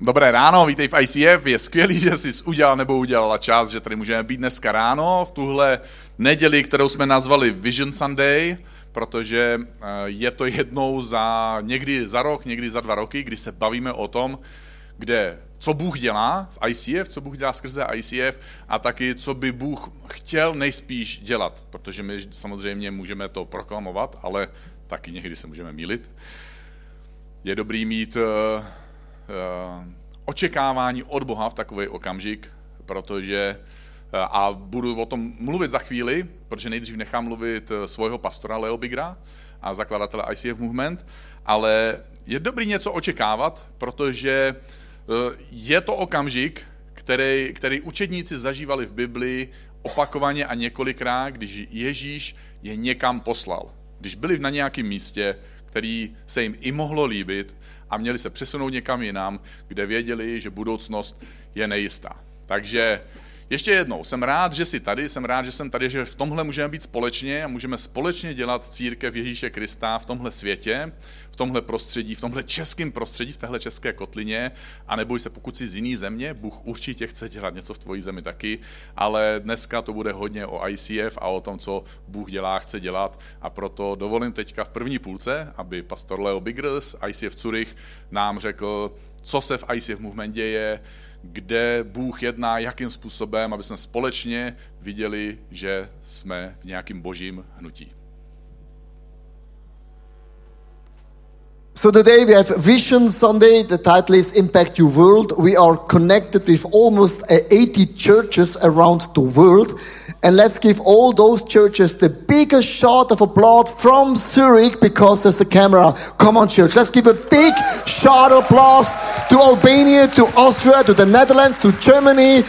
Dobré ráno, vítej v ICF, je skvělý, že jsi udělal nebo udělala čas, že tady můžeme být dneska ráno, v tuhle neděli, kterou jsme nazvali Vision Sunday, protože je to jednou někdy za rok, někdy za 2 roky, kdy se bavíme o tom, co Bůh dělá v ICF, co Bůh dělá skrze ICF a taky, co by Bůh chtěl nejspíš dělat, protože my samozřejmě můžeme to proklamovat, ale taky někdy se můžeme mýlit. Je dobrý mít očekávání od Boha v takový okamžik, protože, a budu o tom mluvit za chvíli, protože nejdřív nechám mluvit svého pastora Leo Bigra a zakladatele ICF Movement, ale je dobrý něco očekávat, protože je to okamžik, který učedníci zažívali v Biblii opakovaně a několikrát, když Ježíš je někam poslal. Když byli na nějakém místě, který se jim i mohlo líbit a měli se přesunout někam jinam, kde věděli, že budoucnost je nejistá. Takže ještě jednou, jsem rád, že jsi tady, jsem rád, že jsem tady, že v tomhle můžeme být společně a můžeme společně dělat církev Ježíše Krista v tomhle světě, v tomhle prostředí, v tomhle českém prostředí, v téhle české kotlině a neboj se, pokud jsi z jiný země, Bůh určitě chce dělat něco v tvojí zemi taky, ale dneska to bude hodně o ICF a o tom, co Bůh dělá, chce dělat a proto dovolím teďka v první půlce, aby pastor Leo Bigr z ICF Zurich nám řekl, co se v ICF Movement děje, kde Bůh jedná, jakým způsobem, aby jsme společně viděli, že jsme v nějakým božím hnutí. So today we have Vision Sunday. The title is Impact Your World. We are connected with almost 80 churches around the world. And let's give all those churches the biggest shot of applause from Zurich because there's a camera. Come on, church. Let's give a big shot of applause to Albania, to Austria, to the Netherlands, to Germany,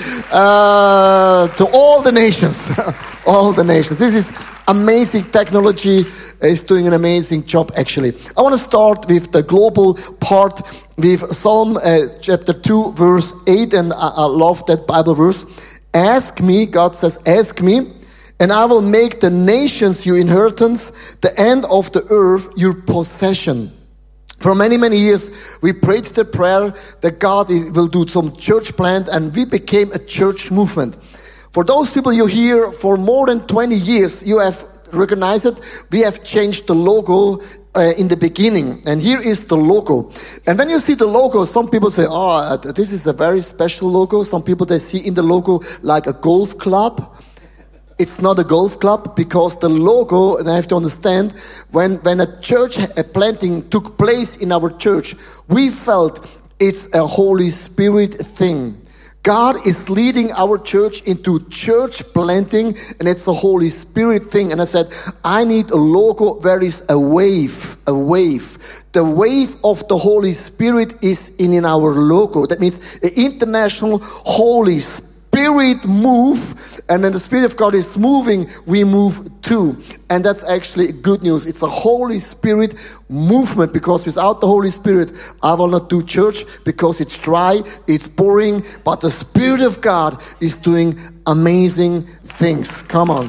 to all the nations. All the nations. This is amazing technology. Is doing an amazing job actually. I want to start with the global part with Psalm chapter 2 verse 8 and I love that Bible verse. Ask me, God says, ask me and I will make the nations your inheritance, the end of the earth your possession. For many, many years, we prayed the prayer that God will do some church plant and we became a church movement. For those people you hear for more than 20 years, you have recognize it, we have changed the logo in the beginning. And here is the logo. And when you see the logo, some people say, oh, this is a very special logo. Some people, they see in the logo like a golf club. It's not a golf club because the logo, and I have to understand, when a church planting took place in our church, we felt it's a Holy Spirit thing. God is leading our church into church planting and it's a Holy Spirit thing. And I said, I need a logo where is a wave, a wave. The wave of the Holy Spirit is in our logo. That means an international Holy Spirit move. And when the Spirit of God is moving, we move too. And that's actually good news. It's a Holy Spirit movement because without the Holy Spirit, I will not do church because it's dry, it's boring, but the Spirit of God is doing amazing things. Come on.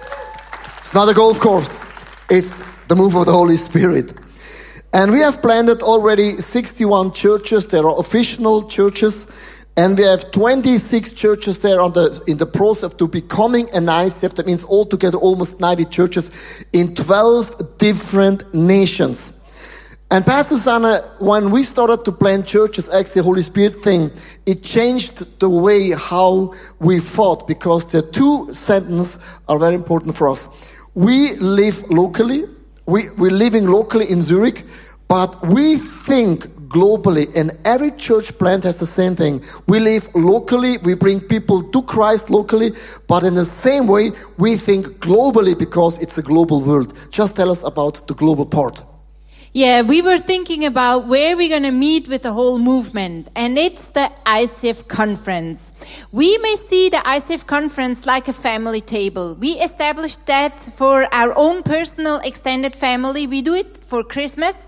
It's not a golf course. It's the move of the Holy Spirit. And we have planted already 61 churches. There are official churches. And we have 26 churches there in the process to becoming an ICF. That means altogether almost 90 churches in 12 different nations. And Pastor Susanna, when we started to plant churches, actually the Holy Spirit thing, it changed the way how we thought because the 2 sentences are very important for us. We live locally. We're living locally in Zurich, but we think globally, and every church plant has the same thing. We live locally, we bring people to Christ locally, but in the same way, we think globally because it's a global world. Just tell us about the global part. Yeah, we were thinking about where we're going to meet with the whole movement, and it's the ICF conference. We may see the ICF conference like a family table. We established that for our own personal extended family. We do it for Christmas.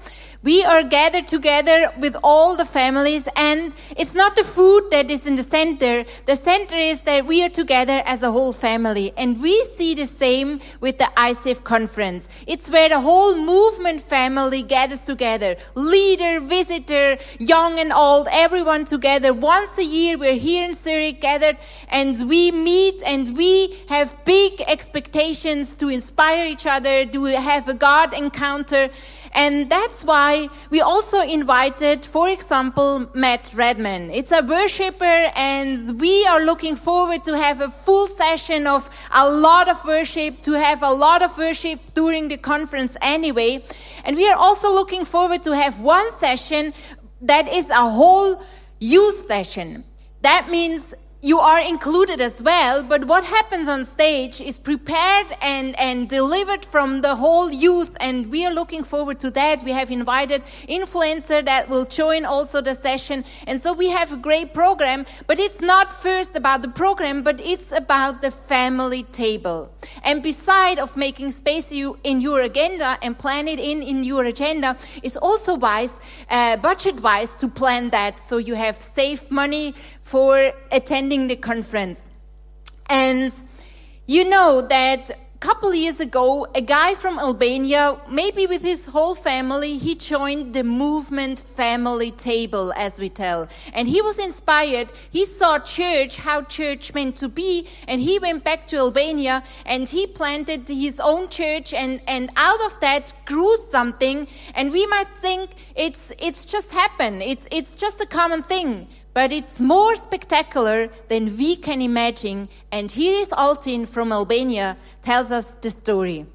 We are gathered together with all the families, and it's not the food that is in the center. The center is that we are together as a whole family, and we see the same with the ICF conference. It's where the whole movement family gathers together. Leader, visitor, young and old, everyone together. Once a year we're here in Zurich gathered, and we meet and we have big expectations to inspire each other, to have a God encounter. And that's why we also invited, for example, Matt Redman. It's a worshiper, and we are looking forward to have a full session of a lot of worship, to have a lot of worship during the conference anyway. And we are also looking forward to have one session that is a whole youth session. That means you are included as well, but what happens on stage is prepared and delivered from the whole youth, and we are looking forward to that. We have invited influencer that will join also the session, and so we have a great program, but it's not first about the program, but it's about the family table. And beside of making space in your agenda and plan it in your agenda, it's also wise, budget-wise, to plan that so you have saved money for attending the conference. And you know that a couple years ago, a guy from Albania, maybe with his whole family, he joined the movement family table, as we tell. And he was inspired. He saw church, how church meant to be, and he went back to Albania and he planted his own church, and out of that grew something. And we might think it's just happened. It's just a common thing. But it's more spectacular than we can imagine. And here is Altin from Albania, tells us the story.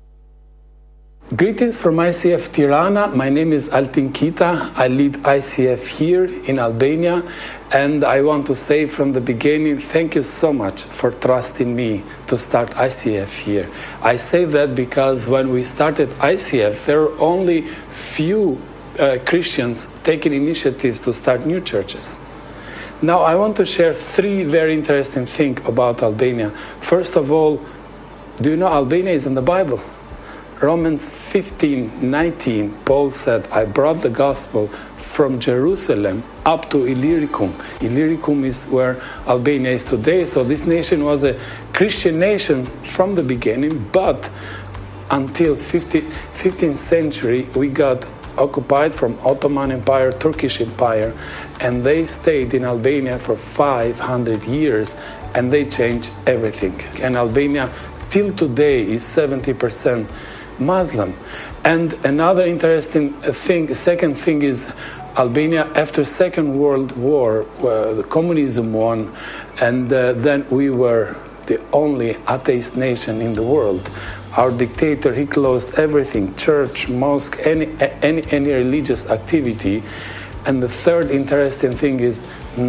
Greetings from ICF Tirana. My name is Altin Kita. I lead ICF here in Albania. And I want to say from the beginning, thank you so much for trusting me to start ICF here. I say that because when we started ICF, there were only few Christians taking initiatives to start new churches. Now, I want to share three very interesting things about Albania. First of all, do you know Albania is in the Bible? Romans 15:19, Paul said, I brought the gospel from Jerusalem up to Illyricum. Illyricum is where Albania is today. So this nation was a Christian nation from the beginning, but until 15th century, we got occupied from Ottoman Empire, Turkish Empire, and they stayed in Albania for 500 years, and they changed everything. And Albania, till today, is 70% Muslim. And another interesting thing, second thing is Albania, after Second World War, the communism won, and then we were the only atheist nation in the world. Our dictator, he closed everything, church, mosque, any religious activity. And the third interesting thing is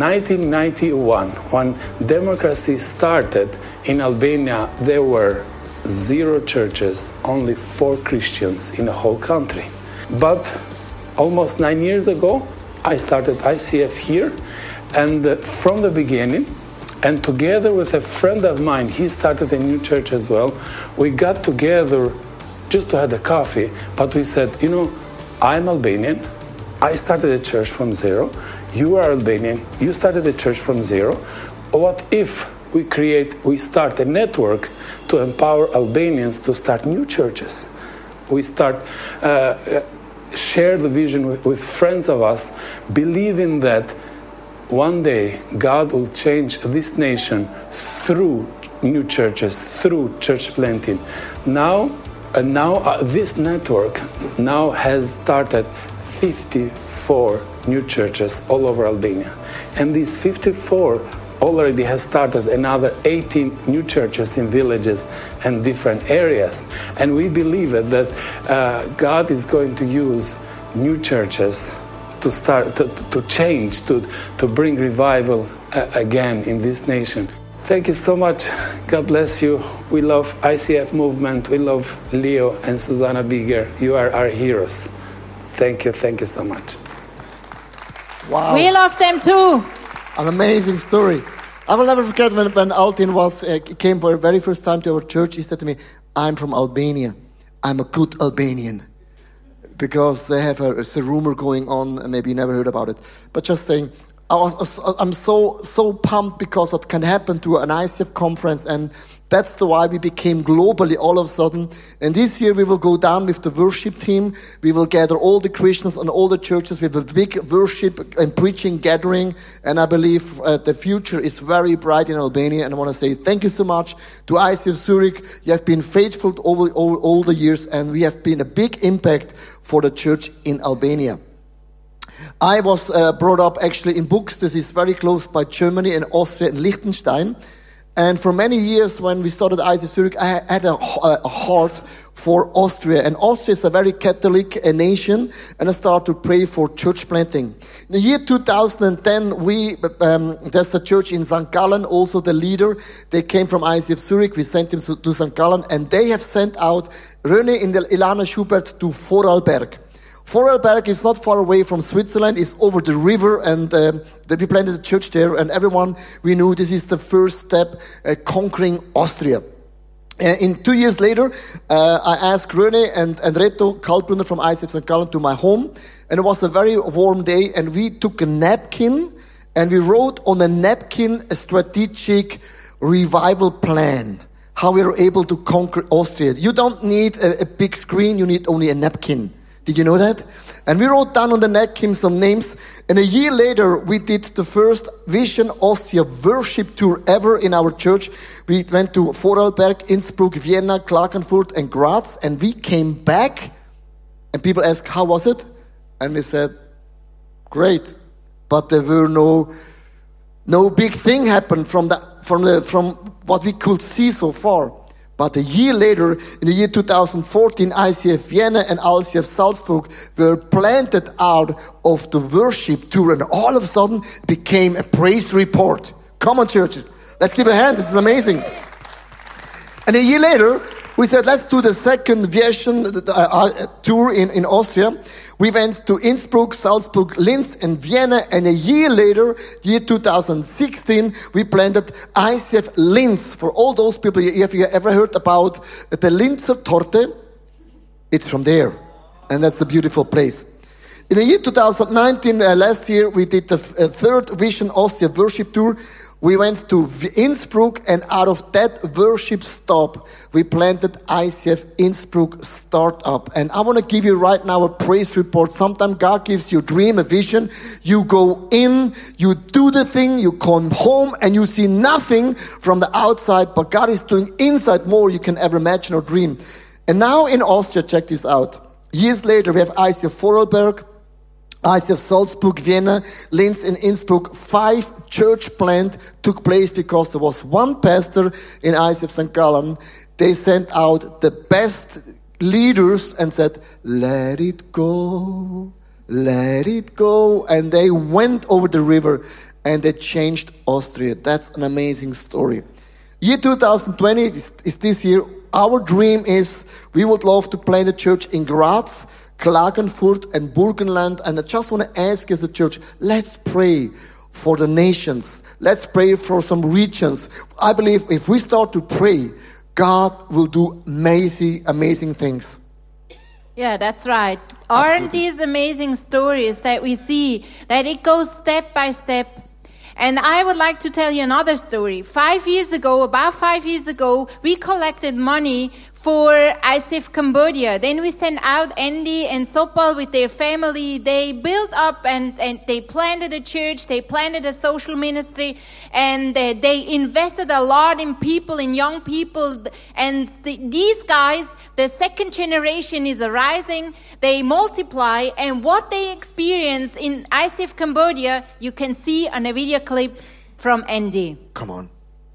1991, when democracy started in Albania, there were 0 churches, only 4 Christians in the whole country. But almost 9 years ago, I started ICF here, and from the beginning, and together with a friend of mine, he started a new church as well. We got together just to have a coffee, but we said, you know, I'm Albanian. I started a church from 0. You are Albanian. You started a church from 0. What if we start a network to empower Albanians to start new churches? We start share the vision with friends of us, believing that one day God will change this nation through new churches, through church planting. Now this network now has started 54 new churches all over Albania. And these 54 already has started another 18 new churches in villages and different areas. And we believe that God is going to use new churches to start to change, to bring revival again in this nation. Thank you so much. God bless you. We love ICF movement. We love Leo and Susanna Bigger. You are our heroes. Thank you so much. Wow. We love them too. An amazing story. I will never forget when Altin came for the very first time to our church. He said to me, I'm from Albania. I'm a good Albanian. because they have it's a rumor going on, and maybe you never heard about it. But just saying, I'm so pumped because what can happen to an ICF conference, and that's why we became globally all of a sudden. And this year we will go down with the worship team. We will gather all the Christians and all the churches with a big worship and preaching gathering. And I believe the future is very bright in Albania. And I want to say thank you so much to ICF Zurich. You have been faithful over all the years, and we have been a big impact for the church in Albania. I was brought up actually in Buchs. This is very close by Germany and Austria and Liechtenstein. And for many years when we started ICF Zurich, I had a heart for Austria. And Austria is a very Catholic nation. And I started to pray for church planting. In the year 2010, there's a church in St. Gallen, also the leader. They came from ICF Zurich. We sent them to St. Gallen. And they have sent out René and Ilana Schubert to Vorarlberg. Vorarlberg is not far away from Switzerland. It's over the river, and we planted a church there, and everyone, we knew this is the first step conquering Austria. In 2 years later, I asked René and Reto Kalbrunner from ICF St. Gallen to my home, and it was a very warm day, and we took a napkin, and we wrote on a napkin a strategic revival plan, how we were able to conquer Austria. You don't need a big screen, you need only a napkin. Did you know that? And we wrote down on the napkin some names. And a year later, we did the first Vision Austria worship tour ever in our church. We went to Vorarlberg, Innsbruck, Vienna, Klagenfurt, and Graz. And we came back. And people asked, how was it? And we said, great. But there were no big thing happened from what we could see so far. But a year later, in the year 2014, ICF Vienna and ICF Salzburg were planted out of the worship tour, and all of a sudden it became a praise report. Come on, churches. Let's give a hand. This is amazing. And a year later, we said, let's do the second Vision tour in Austria. We went to Innsbruck, Salzburg, Linz, and Vienna. And a year later, year 2016, we planted ICF Linz. For all those people, if you ever heard about the Linzer Torte, it's from there. And that's a beautiful place. In the year 2019, last year, we did the third Vision Austria worship tour. We went to Innsbruck, and out of that worship stop, we planted ICF Innsbruck Startup. And I want to give you right now a praise report. Sometimes God gives you a dream, a vision. You go in, you do the thing, you come home, and you see nothing from the outside, but God is doing inside more you can ever imagine or dream. And now in Austria, check this out. Years later, we have ICF Vorarlberg, ICF Salzburg, Vienna, Linz, and Innsbruck. 5 church plant took place because there was one pastor in ICF St. Gallen. They sent out the best leaders and said, let it go, let it go. And they went over the river and they changed Austria. That's an amazing story. Year 2020 is this year. Our dream is we would love to plant a church in Graz, Klagenfurt, and Burgenland. And I just want to ask as a church, let's pray for the nations. Let's pray for some regions. I believe if we start to pray, God will do amazing things. Yeah, that's right. Aren't these amazing stories that we see, that it goes step by step? And I would like to tell you another story. About 5 years ago, we collected money for ICF Cambodia. Then we sent out Andy and Sopal with their family. They built up and they planted a church. They planted a social ministry. And they invested a lot in people, in young people. And these guys, the second generation is arising. They multiply. And what they experience in ICF Cambodia, you can see on a video clip from Andy. Come on.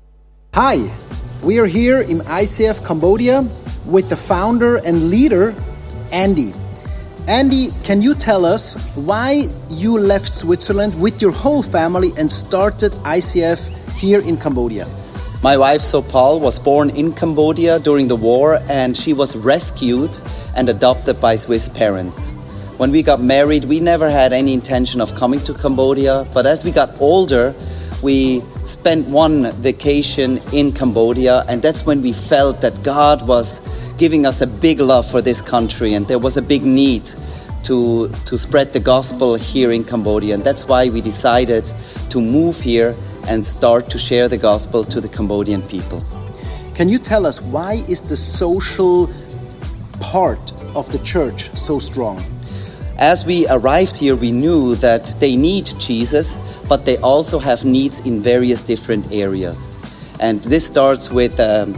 Hi, we are here in ICF Cambodia with the founder and leader, Andy. Andy, can you tell us why you left Switzerland with your whole family and started ICF here in Cambodia? My wife Sopal was born in Cambodia during the war, and she was rescued and adopted by Swiss parents. When we got married, we never had any intention of coming to Cambodia, but as we got older, we spent one vacation in Cambodia, and that's when we felt that God was giving us a big love for this country, and there was a big need to spread the gospel here in Cambodia, and that's why we decided to move here and start to share the gospel to the Cambodian people. Can you tell us, why is the social part of the church so strong? As we arrived here, we knew that they need Jesus, but they also have needs in various different areas. And this starts with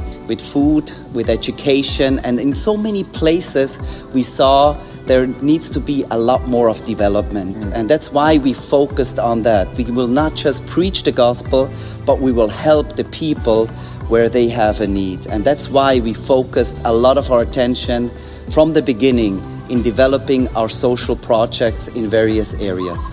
food, with education, and in so many places we saw there needs to be a lot more of development. And that's why we focused on that. We will not just preach the gospel, but we will help the people where they have a need. And that's why we focused a lot of our attention from the beginning in developing our social projects in various areas.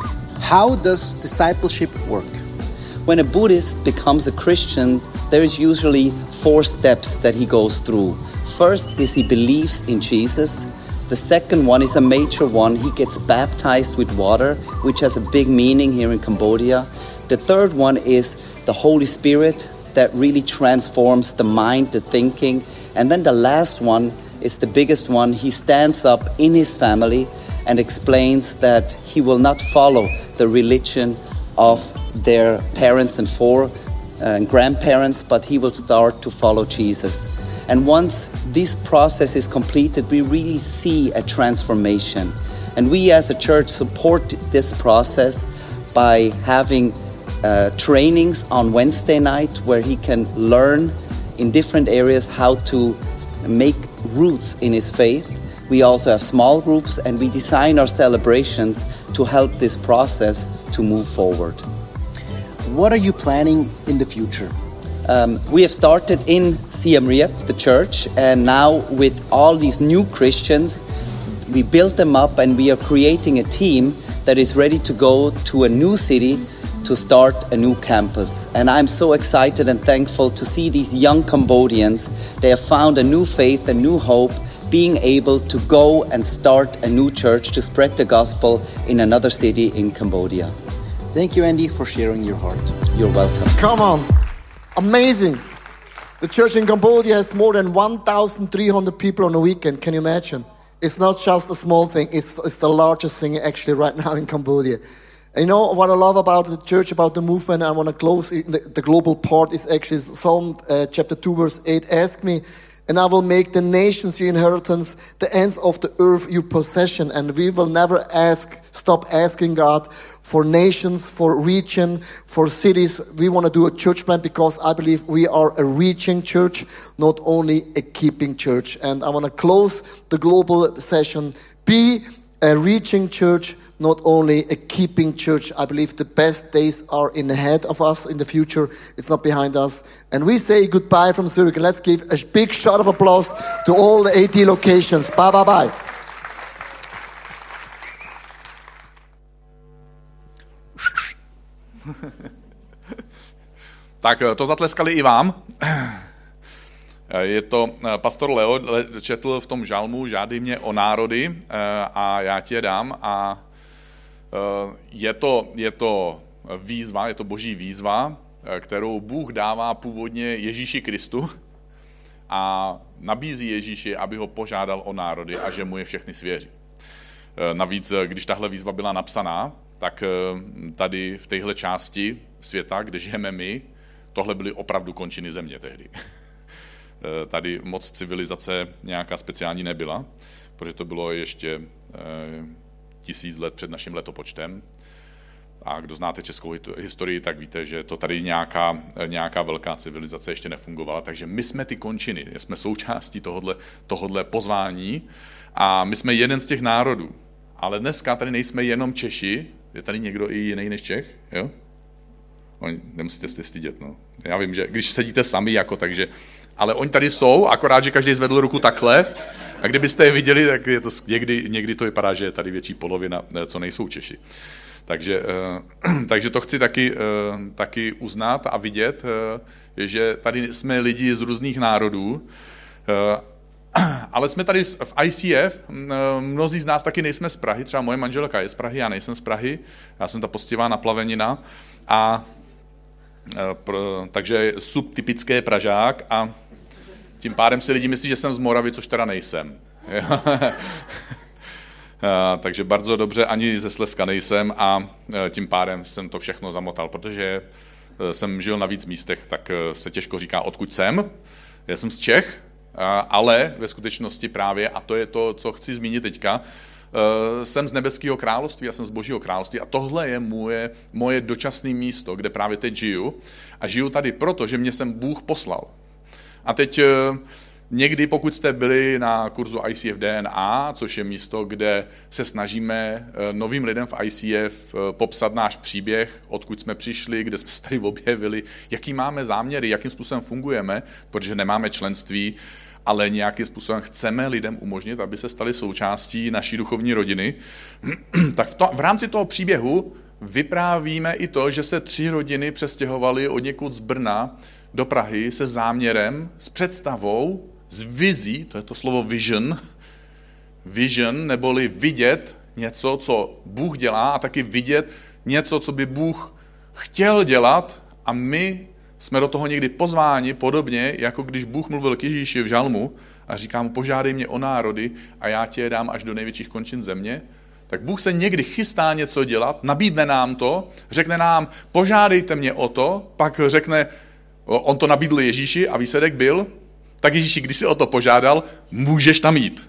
How does discipleship work? When a Buddhist becomes a Christian, there is usually 4 steps that he goes through. First is he believes in Jesus. The second one is a major one. He gets baptized with water, which has a big meaning here in Cambodia. The third one is the Holy Spirit that really transforms the mind, the thinking. And then the last one is the biggest one. He stands up in his family and explains that he will not follow the religion of their parents and grandparents, but he will start to follow Jesus. And once this process is completed, we really see a transformation. And we as a church support this process by having trainings on Wednesday night where he can learn in different areas how to make roots in his faith. We also have small groups, and we design our celebrations to help this process to move forward. What are you planning in the future? We have started in Siem Reap, the church, and now with all these new Christians, we built them up and we are creating a team that is ready to go to a new city to start a new campus. And I'm so excited and thankful to see these young Cambodians. They have found a new faith, a new hope, being able to go and start a new church to spread the gospel in another city in Cambodia. Thank you, Andy, for sharing your heart. You're welcome. Come on. Amazing. The church in Cambodia has more than 1,300 people on a weekend. Can you imagine? It's not just a small thing. It's the largest thing actually right now in Cambodia. And you know what I love about the church, about the movement, I want to close the global part is actually Psalm chapter 2 verse 8. Ask me, and I will make the nations your inheritance, the ends of the earth your possession. And we will never stop asking God for nations, for region, for cities. We want to do a church plant because I believe we are a reaching church, not only a keeping church. And I want to close the global session. Be a reaching church, not only a keeping church. I believe the best days are ahead of us in the future. It's not behind us. And we say goodbye from Zurich. And let's give a big shout of applause to all the 80 locations. Bye, bye, bye. Tak to zatleskali i vám. Je to pastor Leo, četl v tom žalmu žádej mě o národy a já ti je dám. A je to výzva, je to boží výzva, kterou Bůh dává původně Ježíši Kristu a nabízí Ježíši, aby ho požádal o národy a že mu je všechny svěří. Navíc, když tahle výzva byla napsaná, tak tady v téhle části světa, kde žijeme my, tohle byly opravdu končiny země tehdy. Tady moc civilizace nějaká speciální nebyla, protože to bylo ještě 1000 let před naším letopočtem. A kdo znáte českou historii, tak víte, že to tady nějaká velká civilizace ještě nefungovala. Takže my jsme ty končiny, jsme součástí tohodle pozvání a my jsme jeden z těch národů. Ale dneska tady nejsme jenom Češi, je tady někdo i jiný než Čech, jo? Nemusíte se stydět, no. Já vím, že když sedíte sami, takže... Ale oni tady jsou, akorát, že každý zvedl ruku takhle. A kdybyste je viděli, tak je to někdy to vypadá, že je tady větší polovina, co nejsou Češi. Takže to chci taky uznat a vidět, že tady jsme lidi z různých národů, ale jsme tady v ICF, mnozí z nás taky nejsme z Prahy, třeba moje manželka je z Prahy, já nejsem z Prahy, já jsem ta poctivá naplavenina, takže subtypické Pražák a Tím pádem si lidi myslí, že jsem z Moravy, což teda nejsem. Takže bardzo dobře, ani ze Slezska nejsem a tím pádem jsem to všechno zamotal, protože jsem žil na víc místech, tak se těžko říká, odkud jsem. Já jsem z Čech, ale ve skutečnosti právě, a to je to, co chci zmínit teďka, jsem z nebeského království, já jsem z Božího království a tohle je moje dočasné místo, kde právě teď žiju. A žiju tady proto, že mě sem Bůh poslal. A teď někdy, pokud jste byli na kurzu ICF DNA, což je místo, kde se snažíme novým lidem v ICF popsat náš příběh, odkud jsme přišli, kde jsme se tady objevili, jaký máme záměry, jakým způsobem fungujeme, protože nemáme členství, ale nějakým způsobem chceme lidem umožnit, aby se stali součástí naší duchovní rodiny, tak v rámci toho příběhu vyprávíme i to, že se 3 rodiny přestěhovaly odněkud z Brna do Prahy se záměrem, s představou, s vizí, to je to slovo vision, neboli vidět něco, co Bůh dělá a taky vidět něco, co by Bůh chtěl dělat a my jsme do toho někdy pozváni, podobně, jako když Bůh mluvil k Ježíši v žalmu a říká mu, požádej mě o národy a já tě dám až do největších končin země, tak Bůh se někdy chystá něco dělat, nabídne nám to, řekne nám, požádejte mě o to, pak řekne, on to nabídl Ježíši a výsledek byl, tak Ježíši, když jsi o to požádal, můžeš tam jít.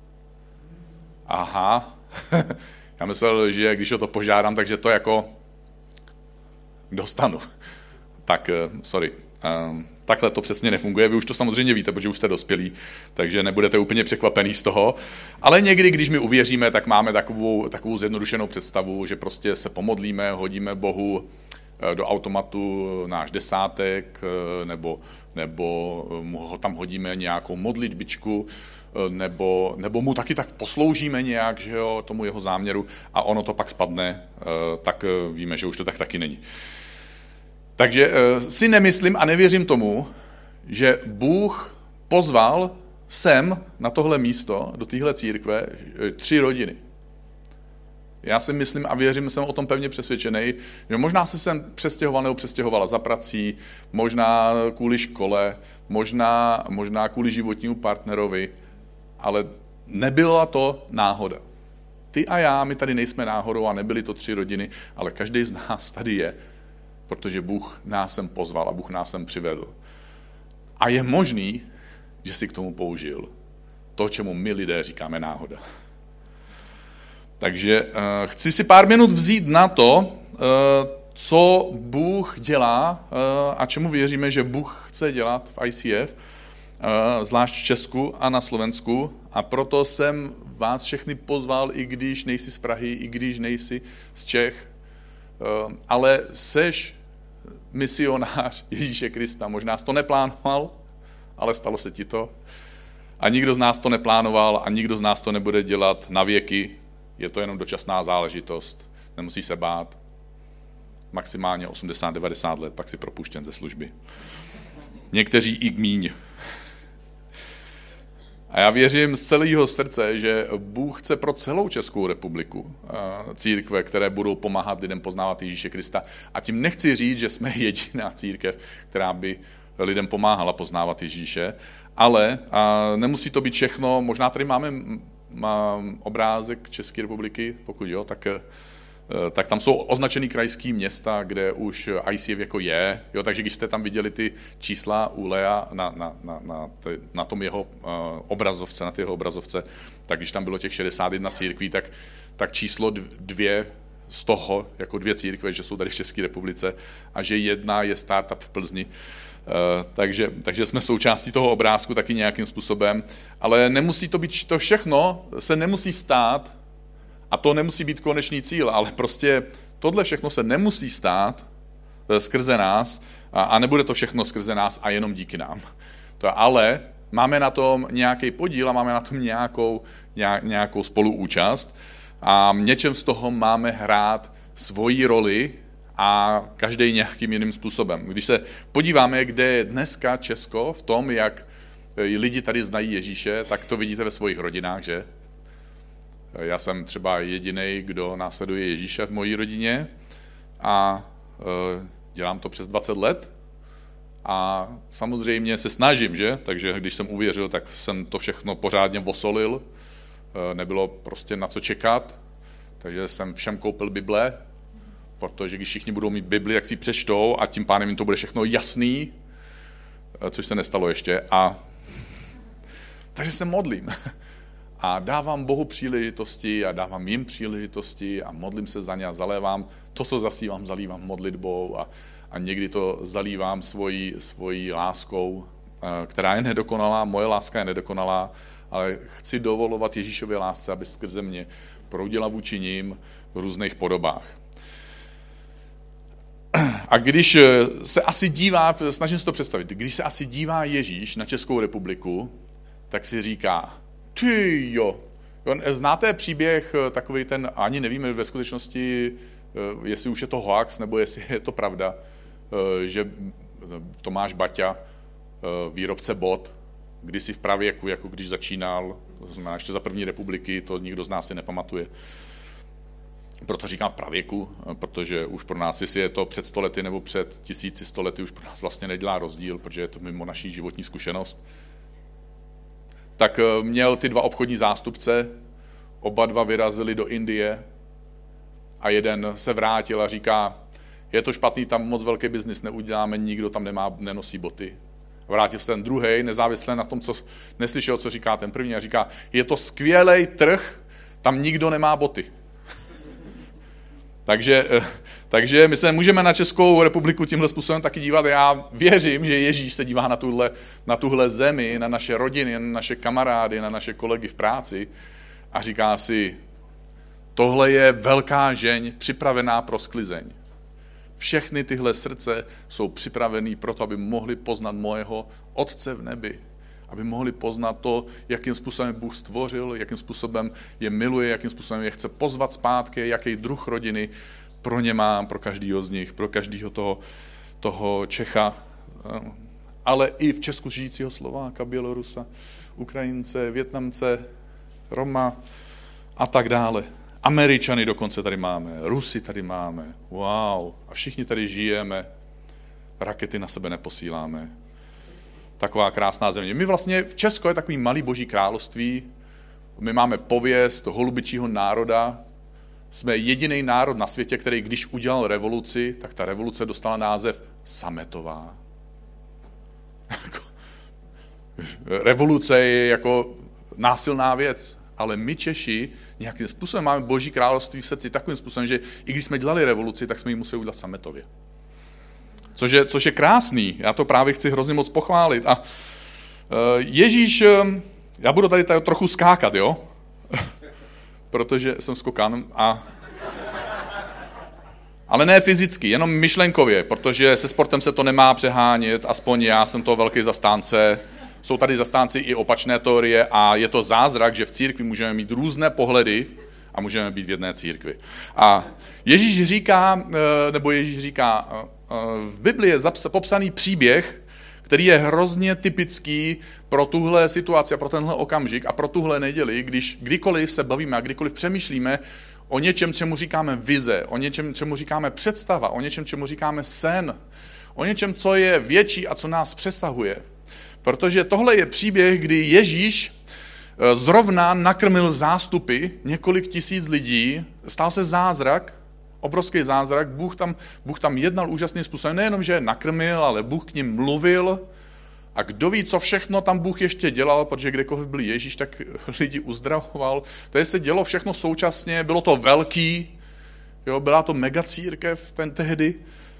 Aha, já myslel, že když o to požádám, takže to jako dostanu. Tak, sorry. Takhle to přesně nefunguje. Vy už to samozřejmě víte, protože už jste dospělí, takže nebudete úplně překvapený z toho. Ale někdy, když my uvěříme, tak máme takovou zjednodušenou představu, že prostě se pomodlíme, hodíme Bohu do automatu náš desátek, nebo ho tam hodíme nějakou modlitbičku, nebo mu taky tak posloužíme nějak, že jo, tomu jeho záměru a ono to pak spadne, tak víme, že už to tak taky není. Takže si nemyslím a nevěřím tomu, že Bůh pozval sem na tohle místo, do téhle církve, 3 rodiny. Já si myslím a věřím, jsem o tom pevně přesvědčený, že možná se sem přestěhoval nebo přestěhovala za prací, možná kvůli škole, možná kvůli životnímu partnerovi, ale nebyla to náhoda. Ty a já, my tady nejsme náhodou a nebyly to 3 rodiny, ale každý z nás tady je, protože Bůh nás sem pozval a Bůh nás sem přivedl. A je možný, že si k tomu použil to, čemu my lidé říkáme náhoda. Takže chci si pár minut vzít na to, co Bůh dělá a čemu věříme, že Bůh chce dělat v ICF, zvlášť v Česku a na Slovensku. A proto jsem vás všechny pozval, i když nejsi z Prahy, i když nejsi z Čech, ale seš misionář Ježíše Krista. Možná jsi to neplánoval, ale stalo se ti to. A nikdo z nás to neplánoval a nikdo z nás to nebude dělat na věky. Je to jenom dočasná záležitost. Nemusíš se bát. Maximálně 80-90 let, pak si propuštěn ze služby. Někteří i míň. A já věřím z celého srdce, že Bůh chce pro celou Českou republiku církve, které budou pomáhat lidem poznávat Ježíše Krista. A tím nechci říct, že jsme jediná církev, která by lidem pomáhala poznávat Ježíše, ale nemusí to být všechno. Možná tady máme obrázek České republiky, pokud jo, tak tam jsou označený krajský města, kde už ICF jako je, jo, takže když jste tam viděli ty čísla u Lea na tom jeho obrazovce, na té jeho obrazovce, tak když tam bylo těch 61 církví, tak číslo 2 z toho, jako 2 církve, že jsou tady v České republice a že 1 je startup v Plzni. Takže jsme součástí toho obrázku taky nějakým způsobem, ale nemusí to být to všechno, se nemusí stát a to nemusí být konečný cíl, ale prostě tohle všechno se nemusí stát skrze nás a nebude to všechno skrze nás a jenom díky nám. Ale máme na tom nějaký podíl a máme na tom nějakou spoluúčast a něčem z toho máme hrát svoji roli a každý nějakým jiným způsobem. Když se podíváme, kde je dneska Česko v tom, jak lidi tady znají Ježíše, tak to vidíte ve svých rodinách, že? Já jsem třeba jedinej, kdo následuje Ježíše v mojí rodině a dělám to přes 20 let A samozřejmě se snažím, že? Takže když jsem uvěřil, tak jsem to všechno pořádně vosolil. Nebylo prostě na co čekat. Takže jsem všem koupil Bible, protože když všichni budou mít Bibli, tak si ji přečtou a tím pádem jim to bude všechno jasný, což se nestalo ještě. Takže se modlím. A dávám Bohu příležitosti a dávám jim příležitosti a modlím se za ně a zalévám to, co zasívám, zalívám modlitbou a někdy to zalívám svojí láskou, která je nedokonalá, moje láska je nedokonalá, ale chci dovolovat Ježíšově lásce, aby skrze mě proudila vůči ním v různých podobách. A když se asi dívá, snažím se to představit, když se asi dívá Ježíš na Českou republiku, tak si říká, ty jo, znáte příběh takový ten, ani nevíme ve skutečnosti, jestli už je to hoax, nebo jestli je to pravda, že Tomáš Baťa, výrobce bot, kdysi v pravěku, jako když začínal, to znamená ještě za první republiky, to nikdo z nás si nepamatuje. Proto říkám v pravěku, protože už pro nás, jestli je to před 100 lety nebo před 1100 lety, už pro nás vlastně nedělá rozdíl, protože je to mimo naší životní zkušenost. Tak měl ty dva obchodní zástupce, oba dva vyrazili do Indie a jeden se vrátil a říká, je to špatný, tam moc velký biznis neuděláme, nikdo tam nenosí boty. Vrátil se ten druhej, nezávisle na tom, co neslyšel, co říká ten první, a říká, je to skvělej trh, tam nikdo nemá boty. Takže my se můžeme na Českou republiku tímhle způsobem taky dívat. Já věřím, že Ježíš se dívá na tuhle zemi, na naše rodiny, na naše kamarády, na naše kolegy v práci a říká si, tohle je velká žeň připravená pro sklizeň. Všechny tyhle srdce jsou připravený proto, aby mohli poznat mojeho Otce v nebi. Aby mohli poznat to, jakým způsobem Bůh stvořil, jakým způsobem je miluje, jakým způsobem je chce pozvat zpátky, jaký druh rodiny pro ně mám, pro každého z nich, pro každého toho Čecha, ale i v Česku žijícího Slováka, Bělorusa, Ukrajince, Vietnamce, Roma a tak dále. Američany dokonce tady máme, Rusy tady máme, wow, a všichni tady žijeme, rakety na sebe neposíláme. Taková krásná země. My vlastně v Česku je takový malý boží království, my máme pověst holubičího národa, jsme jediný národ na světě, který když udělal revoluci, tak ta revoluce dostala název sametová. Revoluce je jako násilná věc, ale my Češi nějakým způsobem máme boží království v srdci takovým způsobem, že i když jsme dělali revoluci, tak jsme ji museli udělat sametově. Což je krásný, já to právě chci hrozně moc pochválit. A Ježíš, já budu tady trochu skákat, jo? Protože jsem skokan, ale ne fyzicky, jenom myšlenkově, protože se sportem se to nemá přehánět, aspoň já jsem to velký zastánce. Jsou tady zastánci i opačné teorie a je to zázrak, že v církvi můžeme mít různé pohledy a můžeme být v jedné církvi. A Ježíš říká, v Biblii je popsaný příběh, který je hrozně typický pro tuhle situaci a pro tenhle okamžik a pro tuhle neděli, když kdykoliv se bavíme a kdykoliv přemýšlíme o něčem, čemu říkáme vize, o něčem, čemu říkáme představa, o něčem, čemu říkáme sen, o něčem, co je větší a co nás přesahuje. Protože tohle je příběh, kdy Ježíš zrovna nakrmil zástupy, několik tisíc lidí, stal se zázrak, obrovský zázrak, Bůh tam jednal úžasným způsobem, nejenom, že je nakrmil, ale Bůh k nim mluvil a kdo ví, co všechno tam Bůh ještě dělal, protože kdekoliv byl Ježíš, tak lidi uzdravoval. Tady se dělo všechno současně, bylo to velký, jo, byla to megacírkev tehdy.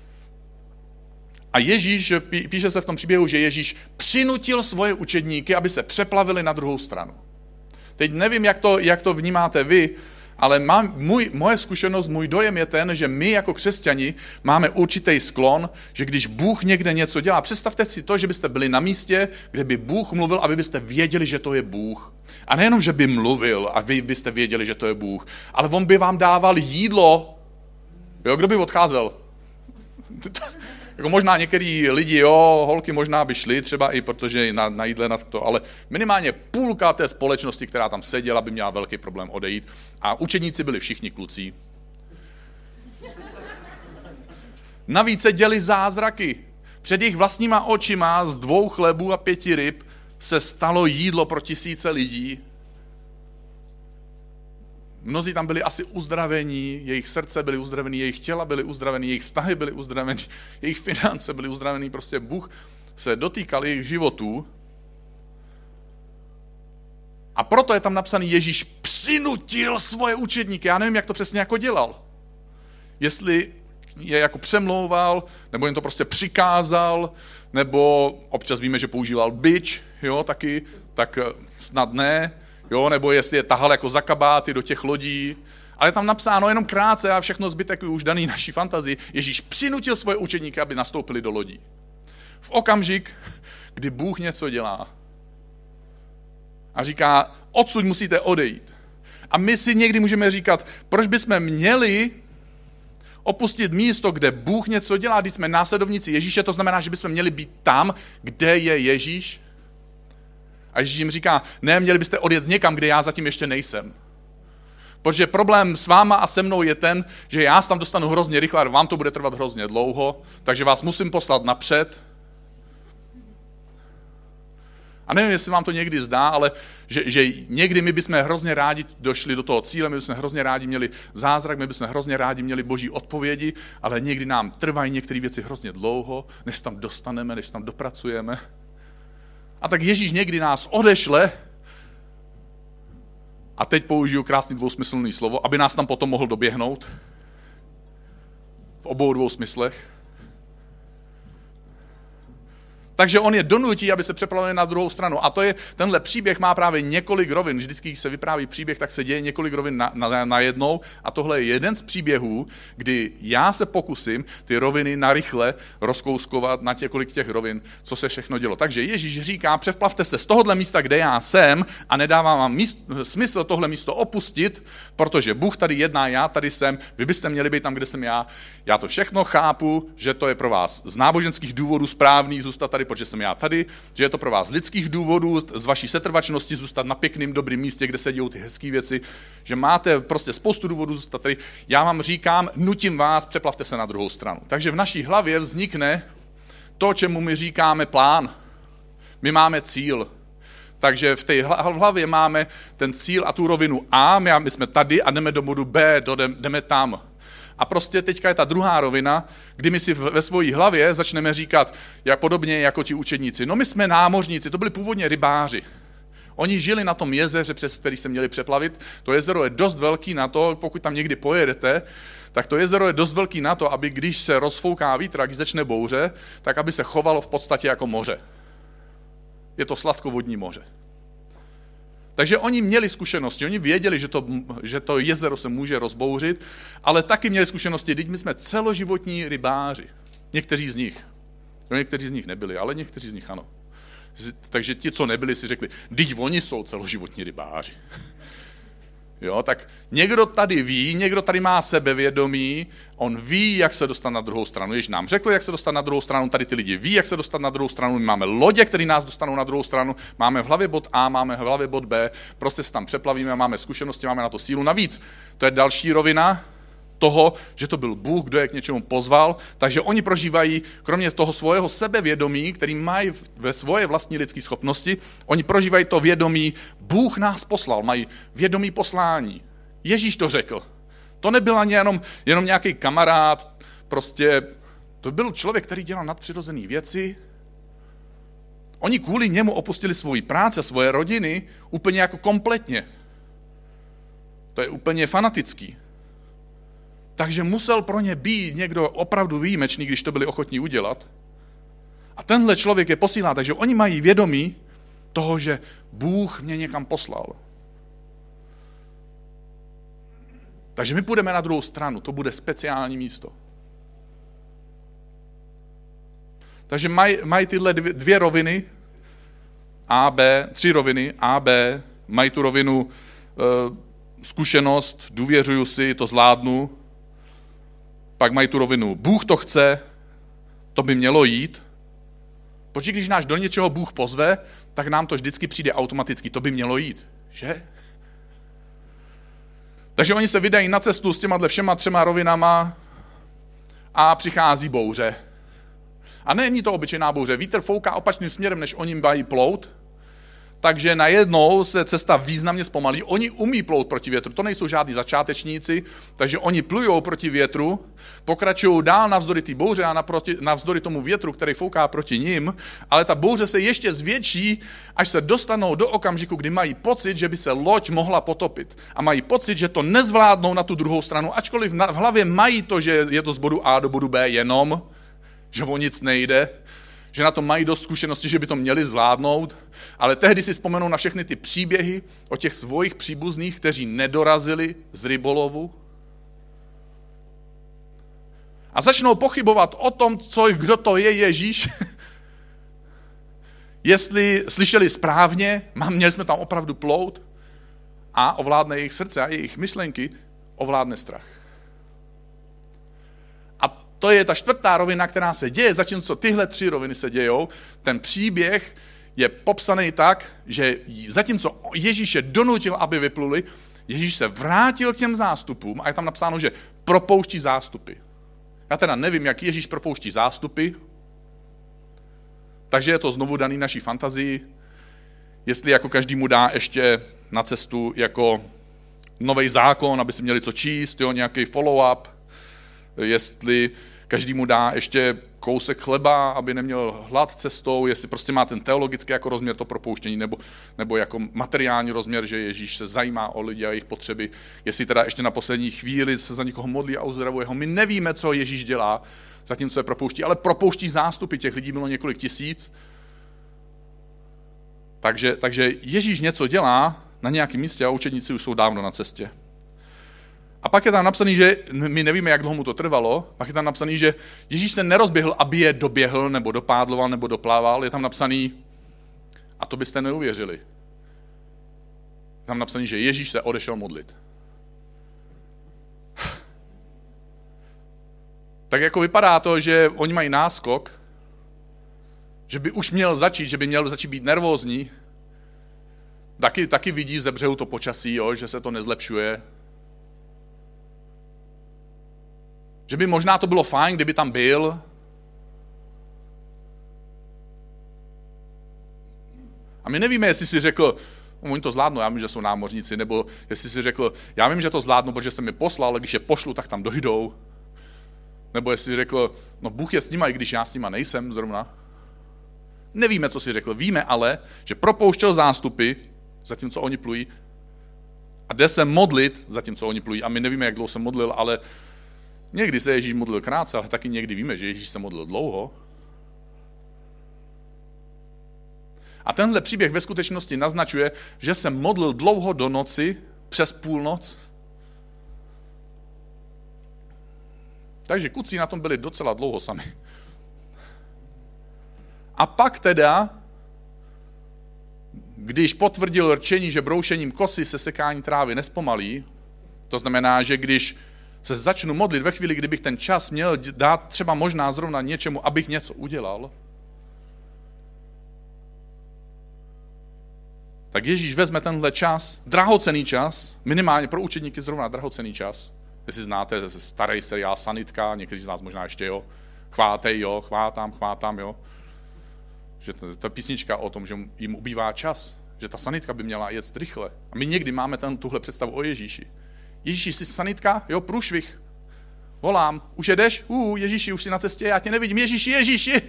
A Ježíš, píše se v tom příběhu, že Ježíš přinutil svoje učedníky, aby se přeplavili na druhou stranu. Teď nevím, jak to vnímáte vy, ale moje zkušenost, můj dojem je ten, že my jako křesťani máme určitý sklon, že když Bůh někde něco dělá, představte si to, že byste byli na místě, kde by Bůh mluvil, aby byste věděli, že to je Bůh. A nejenom, že by mluvil a vy byste věděli, že to je Bůh, ale on by vám dával jídlo. Jo, kdo by odcházel? Jako možná některý lidi, holky možná by šly, třeba i protože na jídle na to, ale minimálně půlka té společnosti, která tam seděla, by měla velký problém odejít. A učeníci byli všichni kluci. Navíc se děli zázraky. Před jejich vlastníma očima z 2 chlebů a 5 ryb se stalo jídlo pro tisíce lidí. Mnozí tam byli asi uzdravení, jejich srdce byly uzdravení, jejich těla byly uzdravení, jejich vztahy byly uzdravení, jejich finance byly uzdravení. Prostě Bůh se dotýkal jejich životů. A proto je tam napsaný, Ježíš přinutil svoje učedníky. Já nevím, jak to přesně jako dělal. Jestli je jako přemlouval, nebo jim to prostě přikázal, nebo občas víme, že používal bič, jo, taky, tak snad ne, jo, nebo jestli je tahal jako za kabáty do těch lodí. Ale je tam napsáno jenom krátce a všechno zbytek už daný naší fantazii. Ježíš přinutil svoje učedníky, aby nastoupili do lodí. V okamžik, kdy Bůh něco dělá a říká, odsud musíte odejít. A my si někdy můžeme říkat, proč bychom měli opustit místo, kde Bůh něco dělá, když jsme následovníci Ježíše, to znamená, že bychom měli být tam, kde je Ježíš. A Ježíš jim říká, ne, měli byste odjet někam, kde já zatím ještě nejsem. Protože problém s váma a se mnou je ten, že já se tam dostanu hrozně rychle, a vám to bude trvat hrozně dlouho, takže vás musím poslat napřed. A nevím, jestli vám to někdy zdá, ale že někdy my bychom hrozně rádi došli do toho cíle, my bychom hrozně rádi měli zázrak, my bychom hrozně rádi měli boží odpovědi, ale někdy nám trvají některé věci hrozně dlouho, než se tam dostaneme, než se tam dopracujeme. A tak Ježíš někdy nás odešle, a teď použiju krásný dvousmyslný slovo, aby nás tam potom mohl doběhnout. V obou 2 smyslech. Takže on je donutí, aby se přeplavili na druhou stranu. A tenhle příběh má právě několik rovin. Vždycky, když se vypráví příběh, tak se děje několik rovin najednou. A tohle je jeden z příběhů, kdy já se pokusím ty roviny narychle rozkouskovat na několik těch rovin, co se všechno dělo. Takže Ježíš říká, přeplavte se z tohohle místa, kde já jsem, a nedává vám smysl tohle místo opustit, protože Bůh tady jedná, já tady jsem, vy byste měli být tam, kde jsem já. Já to všechno chápu, že to je pro vás z náboženských důvodů správný zůstat tady, protože jsem já tady, že je to pro vás z lidských důvodů, z vaší setrvačnosti zůstat na pěkným, dobrým místě, kde se dějou ty hezké věci, že máte prostě spoustu důvodů zůstat tady. Já vám říkám, nutím vás, přeplavte se na druhou stranu. Takže v naší hlavě vznikne to, čemu my říkáme plán. My máme cíl. Takže v té hlavě máme ten cíl a tu rovinu A, my jsme tady a jdeme do bodu B, jdeme tam. A prostě teďka je ta druhá rovina, kdy my si ve své hlavě začneme říkat, jak podobně jako ti učedníci. No my jsme námořníci, to byli původně rybáři. Oni žili na tom jezeře, přes který se měli přeplavit. To jezero je dost velký na to, pokud tam někdy pojedete, tak to jezero je dost velký na to, aby když se rozfouká vítr a když začne bouře, tak aby se chovalo v podstatě jako moře. Je to sladkovodní moře. Takže oni měli zkušenosti, oni věděli, že to jezero se může rozbouřit, ale taky měli zkušenosti, teď my jsme celoživotní rybáři. Někteří z nich. No, někteří z nich nebyli, ale někteří z nich ano. Takže ti, co nebyli, si řekli, teď oni jsou celoživotní rybáři. Jo, tak někdo tady ví, někdo tady má sebevědomí, on ví, jak se dostat na druhou stranu. Ježíš nám řekl, jak se dostat na druhou stranu, tady ty lidi ví, jak se dostat na druhou stranu, my máme lodě, které nás dostanou na druhou stranu, máme v hlavě bod A, máme v hlavě bod B, prostě se tam přeplavíme, máme zkušenosti, máme na to sílu. Navíc, to je další rovina toho, že to byl Bůh, kdo je k něčemu pozval, takže oni prožívají, kromě toho svého sebevědomí, který mají ve svoje vlastní lidské schopnosti, oni prožívají to vědomí, Bůh nás poslal, mají vědomí poslání. Ježíš to řekl. To nebyl ani jenom nějaký kamarád, prostě to byl člověk, který dělal nadpřirozené věci. Oni kvůli němu opustili svoji práci a svoje rodiny úplně jako kompletně. To je úplně fanatický. Takže musel pro ně být někdo opravdu výjimečný, když to byli ochotní udělat. A tenhle člověk je posílá, takže oni mají vědomí toho, že Bůh mě někam poslal. Takže my půjdeme na druhou stranu, to bude speciální místo. Takže mají tyhle 2 roviny, A, B, 3 roviny, A, B, mají tu rovinu zkušenost, důvěřuju si, to zvládnu. Pak mají tu rovinu, Bůh to chce, to by mělo jít. Protože když nás do něčeho Bůh pozve, tak nám to vždycky přijde automaticky, to by mělo jít, že? Takže oni se vydají na cestu s těma všema 3 rovinama a přichází bouře. A není to obyčejná bouře. Vítr fouká opačným směrem, než oni mají plout, takže najednou se cesta významně zpomalí. Oni umí plout proti větru, to nejsou žádní začátečníci, takže oni plujou proti větru, pokračují dál navzdory té bouře a navzdory tomu větru, který fouká proti nim, ale ta bouře se ještě zvětší, až se dostanou do okamžiku, kdy mají pocit, že by se loď mohla potopit. A mají pocit, že to nezvládnou na tu druhou stranu, ačkoliv v hlavě mají to, že je to z bodu A do bodu B jenom, že o nic nejde, že na to mají dost zkušenosti, že by to měli zvládnout, ale tehdy si vzpomenou na všechny ty příběhy o těch svojich příbuzných, kteří nedorazili z rybolovu a začnou pochybovat o tom, kdo to je Ježíš, jestli slyšeli správně, měli jsme tam opravdu plout a ovládne jejich srdce a jejich myšlenky, ovládne strach. To je ta čtvrtá rovina, která se děje, zatímco tyhle 3 roviny se dějou. Ten příběh je popsaný tak, že zatímco Ježíš je donutil, aby vypluli, Ježíš se vrátil k těm zástupům a je tam napsáno, že propouští zástupy. Já teda nevím, jak Ježíš propouští zástupy, takže je to znovu daný naší fantazii, jestli jako každému dá ještě na cestu jako nový zákon, aby si měli co číst, nějaký follow-up, jestli každému dá ještě kousek chleba, aby neměl hlad cestou, jestli prostě má ten teologický jako rozměr to propouštění, nebo jako materiální rozměr, že Ježíš se zajímá o lidi a jejich potřeby, jestli teda ještě na poslední chvíli se za někoho modlí a uzdravuje ho. My nevíme, co Ježíš dělá, zatímco je propouští, ale propouští zástupy, těch lidí bylo několik tisíc. Takže Ježíš něco dělá na nějakém místě a učedníci už jsou dávno na cestě. A pak je tam napsaný, že my nevíme, jak dlouho mu to trvalo, pak je tam napsaný, že Ježíš se nerozběhl, aby je doběhl, nebo dopádloval, nebo doplával, je tam napsaný, a to byste neuvěřili. Je tam napsaný, že Ježíš se odešel modlit. Tak jako vypadá to, že oni mají náskok, že by už měl začít, že by měl začít být nervózní. Taky vidí ze břehu to počasí, že se to nezlepšuje. Že by možná to bylo fajn, kdyby tam byl. A my nevíme, jestli si řekl, oni to zvládnou, já vím, že jsou námořníci, nebo jestli si řekl, já vím, že to zvládnou, protože jsem mi poslal, ale když je pošlu, tak tam dojdou. Nebo jestli si řekl, no Bůh je s nima, i když já s nima nejsem zrovna. Nevíme, co si řekl. Víme ale, že propouštěl zástupy, zatímco oni plují, a jde se modlit, zatímco oni plují. A my nevíme, jak dlouho se modlil, ale někdy se Ježíš modlil krátce, ale taky někdy víme, že Ježíš se modlil dlouho. A tenhle příběh ve skutečnosti naznačuje, že se modlil dlouho do noci, přes půlnoc. Takže kucí na tom byli docela dlouho sami. A pak teda, když potvrdil rčení, že broušením kosy se sekání trávy nespomalí, to znamená, že když se začnu modlit ve chvíli, kdybych ten čas měl dát třeba možná zrovna něčemu, abych něco udělal, tak Ježíš vezme tenhle čas, drahocenný čas, minimálně pro učedníky zrovna drahocenný čas. Jestli znáte starý seriál Sanitka, někteří z vás možná ještě, jo. Chvátej, jo, chvátám, jo. Že ta písnička o tom, že jim ubývá čas, že ta sanitka by měla jet rychle. A my někdy máme tuhle představu o Ježíši. Ježíši, jsi sanitka? Jo, průšvih. Volám, už jedeš? Ježíši, už jsi na cestě, já tě nevidím. Ježíši.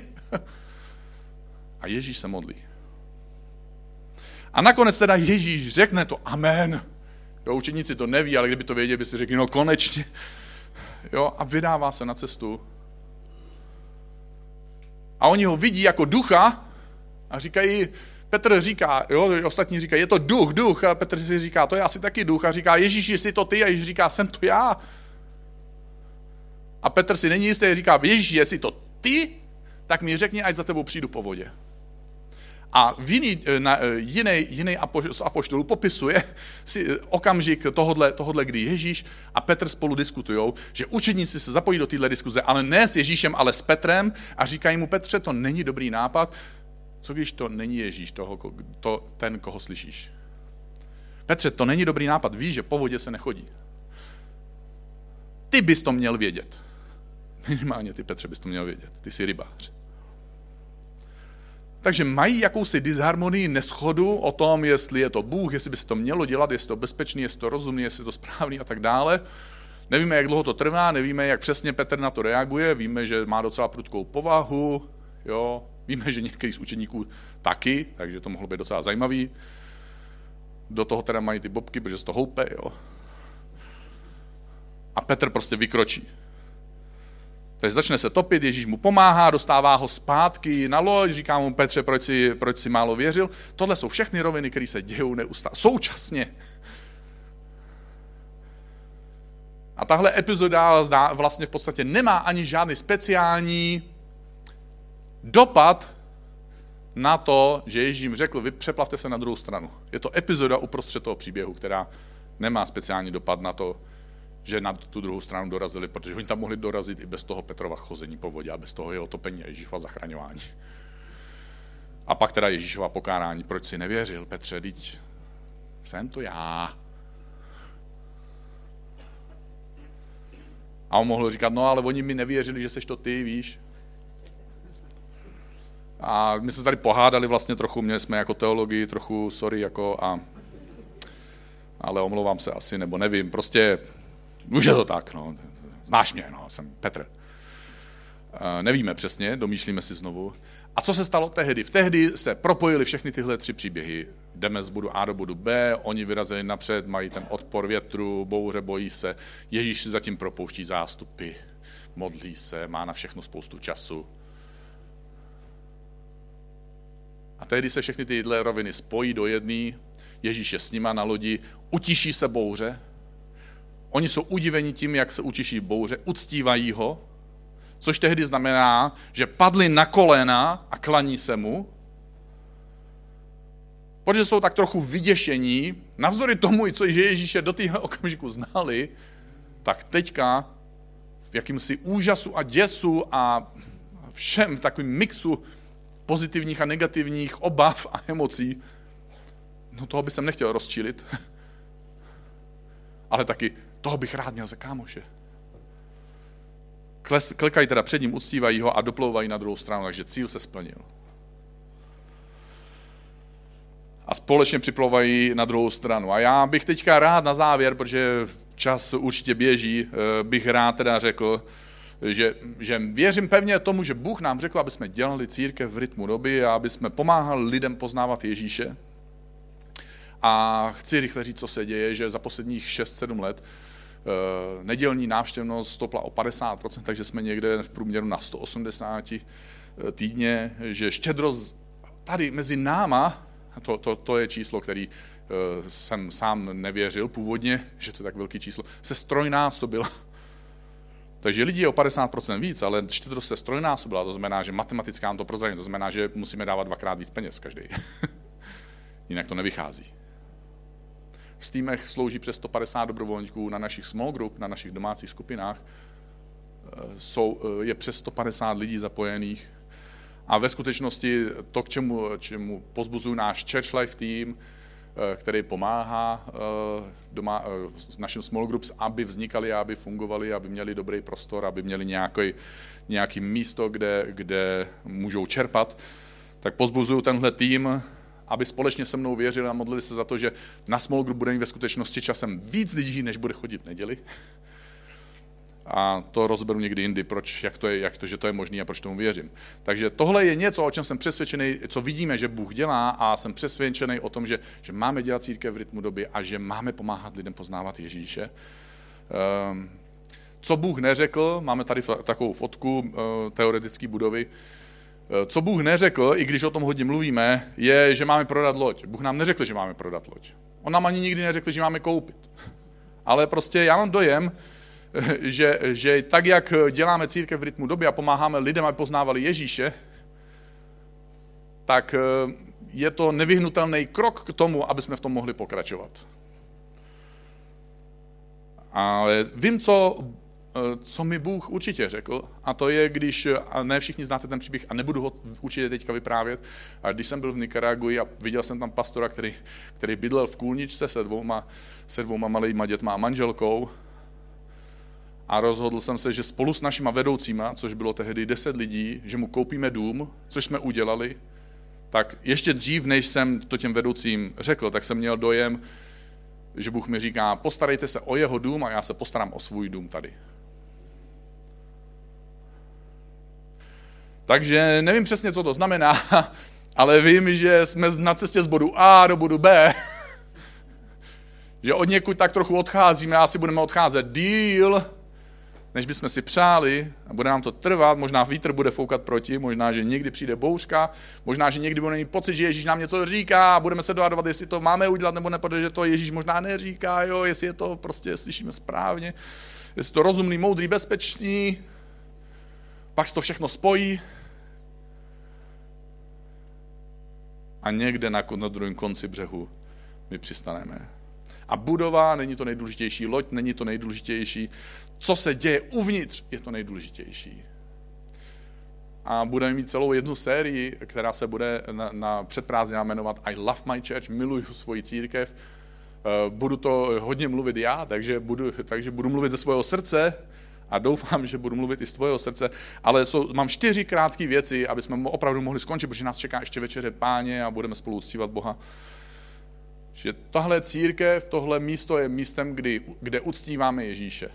A Ježíš se modlí. A nakonec teda Ježíš řekne to amen. Jo, učeníci to neví, ale kdyby to věděli, by si řekli, no konečně. Jo, a vydává se na cestu. A oni ho vidí jako ducha a říkají, Petr říká, jo, ostatní říkají, je to duch. A Petr si říká, to je asi taky duch. A říká, Ježíši, jsi to ty? A Ježíš říká, jsem to já. A Petr si není jistý, říká, Ježíši, jestli to ty, tak mi řekni, ať za tebou přijdu po vodě. A jiný z apoštolů popisuje si okamžik tohodle, kdy Ježíš a Petr spolu diskutujou, že učedníci se zapojí do téhle diskuze, ale ne s Ježíšem, ale s Petrem a říkají mu, Petře, to není dobrý nápad, co když to není Ježíš, ten, koho slyšíš. Petře, to není dobrý nápad, víš, že po vodě se nechodí. Ty bys to měl vědět. Minimálně ty, Petře, bys to měl vědět, ty jsi rybář. Takže mají jakousi disharmonii, neschodu o tom, jestli je to Bůh, jestli by se to mělo dělat, jestli to bezpečný, jestli to rozumný, jestli to správný a tak dále. Nevíme, jak dlouho to trvá, nevíme, jak přesně Petr na to reaguje, víme, že má docela prudkou povahu, jo, víme, že některý z učeníků taky, takže to mohlo být docela zajímavý. Do toho teda mají ty bobky, protože se to houpe, jo. A Petr prostě vykročí. Takže začne se topit, Ježíš mu pomáhá, dostává ho zpátky na loď, říká mu Petře, proč si málo věřil. Tohle jsou všechny roviny, které se dějou neustále, současně. A tahle epizoda vlastně v podstatě nemá ani žádný speciální dopad na to, že Ježíš jim řekl, vy přeplavte se na druhou stranu. Je to epizoda uprostřed toho příběhu, která nemá speciální dopad na to, že na tu druhou stranu dorazili, protože oni tam mohli dorazit i bez toho Petrova chození po vodě a bez toho jeho topení a Ježíšova zachraňování. A pak teda Ježíšova pokárání, proč si nevěřil, Petře, teď jsem to já. A on mohl říkat, no ale oni mi nevěřili, že seš to ty, víš. A my se tady pohádali vlastně trochu, měli jsme jako teologii trochu, sorry, jako ale omlouvám se asi, nebo nevím, prostě už je to tak, no, znáš mě, no, jsem Petr. Nevíme přesně, domýšlíme si znovu. A co se stalo tehdy? Tehdy se propojily všechny tyhle tři příběhy. Jdeme z bodu A do bodu B, oni vyrazili napřed, mají ten odpor větru, bouře, bojí se. Ježíš si zatím propouští zástupy, modlí se, má na všechno spoustu času. A tehdy se všechny tyhle roviny spojí do jedné, Ježíš je s nima na lodi, utiší se bouře, oni jsou udiveni tím, jak se utiší bouře, uctívají ho, což tehdy znamená, že padli na kolena a klaní se mu, protože jsou tak trochu vyděšení, navzdory tomu, co Ježíše do téhle okamžiku znali, tak teďka v jakýmsi úžasu a děsu a všem v takovém mixu pozitivních a negativních obav a emocí, no toho by jsem nechtěl rozčilit, ale taky toho bych rád měl za kámoše. Klekají teda před ním, uctívají ho a doplouvají na druhou stranu, takže cíl se splnil. A společně připlouvají na druhou stranu. A já bych teďka rád na závěr, protože čas určitě běží, bych rád teda řekl, že věřím pevně tomu, že Bůh nám řekl, aby jsme dělali církev v rytmu doby a aby jsme pomáhali lidem poznávat Ježíše. A chci rychle říct, co se děje, že za posledních 6-7 let nedělní návštěvnost stopla o 50%, takže jsme někde v průměru na 180 týdně, že štědrost tady mezi náma, to je číslo, který jsem sám nevěřil původně, že to je tak velký číslo, se strojnásobila. Takže lidí je o 50% víc, ale štědrost se strojnásobila, to znamená, že matematicky nám to prozradí, to znamená, že musíme dávat 2x víc peněz každý. Jinak to nevychází. V týmech slouží přes 150 dobrovolníků na našich small group, na našich domácích skupinách. Je přes 150 lidí zapojených. A ve skutečnosti to, k čemu pozbuzují náš Church Life tým, který pomáhá s naším small groups, aby vznikaly, aby fungovaly, aby měli dobrý prostor, aby měli nějaký místo, kde můžou čerpat, tak pozbuzují tenhle tým, aby společně se mnou věřili a modlili se za to, že na small group bude mít ve skutečnosti časem víc lidí, než bude chodit v neděli. A to rozberu někdy jindy, že to je možné a proč tomu věřím. Takže tohle je něco, o čem jsem přesvědčený, co vidíme, že Bůh dělá a jsem přesvědčený o tom, že máme dělat církev v rytmu doby a že máme pomáhat lidem poznávat Ježíše. Co Bůh neřekl, máme tady takovou fotku teoretické budovy, co Bůh neřekl, i když o tom hodně mluvíme, je, že máme prodat loď. Bůh nám neřekl, že máme prodat loď. On nám ani nikdy neřekl, že máme koupit. Ale prostě já mám dojem, že tak, jak děláme církev v rytmu doby a pomáháme lidem, aby poznávali Ježíše, tak je to nevyhnutelný krok k tomu, aby jsme v tom mohli pokračovat. Ale vím, co mi Bůh určitě řekl, a to je, když, a ne všichni znáte ten příběh a nebudu ho určitě teďka vyprávět, a když jsem byl v Nikaragui a viděl jsem tam pastora, který bydlel v kůlničce se dvouma malýma dětma a manželkou, a rozhodl jsem se, že spolu s našima vedoucíma, což bylo tehdy 10 lidí, že mu koupíme dům, což jsme udělali, tak ještě dřív, než jsem to těm vedoucím řekl, tak jsem měl dojem, že Bůh mi říká, postarejte se o jeho dům a já se postarám o svůj dům tady. Takže nevím přesně, co to znamená, ale vím, že jsme na cestě z bodu A do bodu B. Že od někud tak trochu odcházíme a asi budeme odcházet díl, než bychom si přáli a bude nám to trvat, možná vítr bude foukat proti, možná, že někdy přijde bouřka, možná, že někdy budeme mít pocit, že Ježíš nám něco říká a budeme se dohadovat, jestli to máme udělat nebo ne, protože to Ježíš možná neříká, jo, jestli je to prostě slyšíme správně, jestli to rozumný, moudrý, bezpečný, pak se to všechno spojí a někde na druhém konci břehu my přistaneme. A budova není to nejdůležitější, loď není to nejdůležitější, co se děje uvnitř je to nejdůležitější. A budeme mít celou jednu sérii, která se bude na předprázdninách jmenovat I love my church, miluju svoji církev. Budu to hodně mluvit já, takže budu mluvit ze svého srdce a doufám, že budu mluvit i z tvého srdce, ale mám 4 krátké věci, aby jsme opravdu mohli skončit, protože nás čeká ještě večeře Páně a budeme spolu uctívat Boha. Že tahle církev, tohle místo je místem, kde uctíváme Ježíše.